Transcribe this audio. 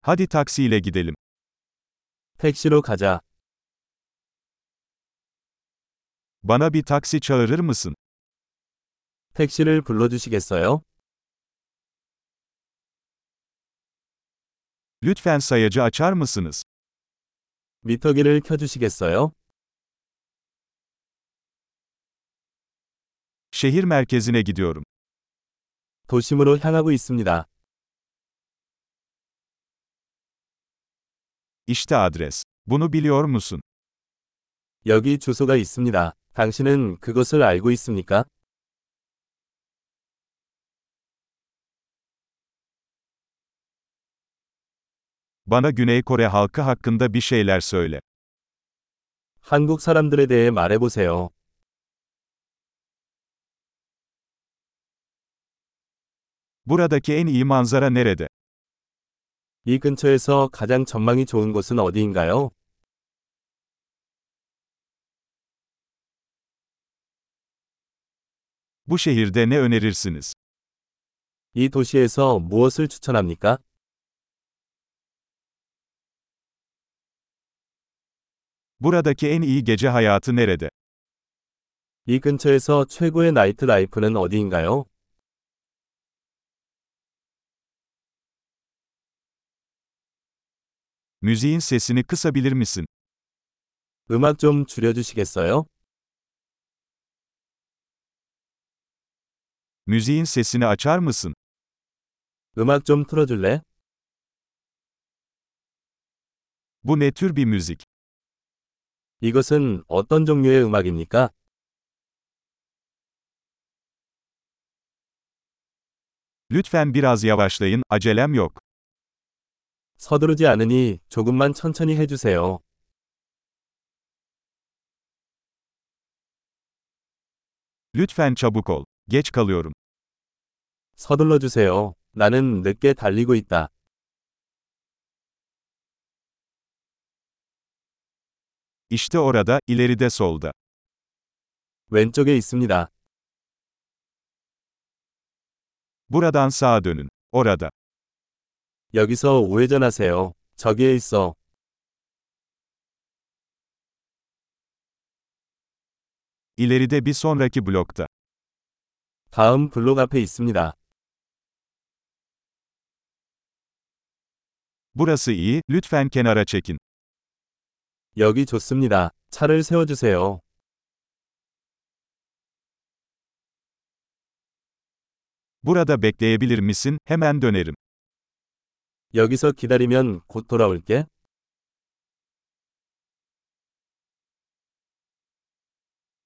Hadi taksiyle gidelim. 택시로 가자. Bana bir taksi çağırır mısın? 택시를 불러주시겠어요? Lütfen sayacı açar mısınız? 미터기를 켜주시겠어요? Şehir merkezine gidiyorum. 도심으로 향하고 있습니다. İşte adres. Bunu biliyor musun? 여기 주소가 있습니다. 당신은 그것을 알고 있습니까? Bana Güney Kore halkı hakkında bir şeyler söyle. 한국 사람들에 대해 말해보세요. Buradaki en iyi manzara nerede? 이 근처에서 가장 전망이 좋은 곳은 어디인가요? Bu şehirde ne önerirsiniz? 이 도시에서 무엇을 추천합니까? Buradaki en iyi gece hayatı nerede? 이 근처에서 최고의 나이트 라이프는 어디인가요? Müziğin sesini kısabilir misin? 음악 좀 줄여주시겠어요? Müziğin sesini açar mısın? 음악 좀 틀어줄래? Bu ne tür bir müzik? 이것은 어떤 종류의 음악입니까? Lütfen biraz yavaşlayın, acelem yok. 서두르지 않으니 조금만 천천히 해주세요. Lütfen çabuk ol. Geç kalıyorum. 서둘러 주세요. 나는 늦게 달리고 있다. İşte orada, ileride solda. 왼쪽에 있습니다. Buradan sağa dönün. Orada. 여기서 우회전하세요. 저기에 있어. İleride bir sonraki blokta. 다음 블록 앞에 있습니다. Burası iyi, lütfen kenara çekin. 여기 좋습니다. 차를 세워주세요. Burada bekleyebilir misin? Hemen dönerim. 여기서 기다리면 곧 돌아올게.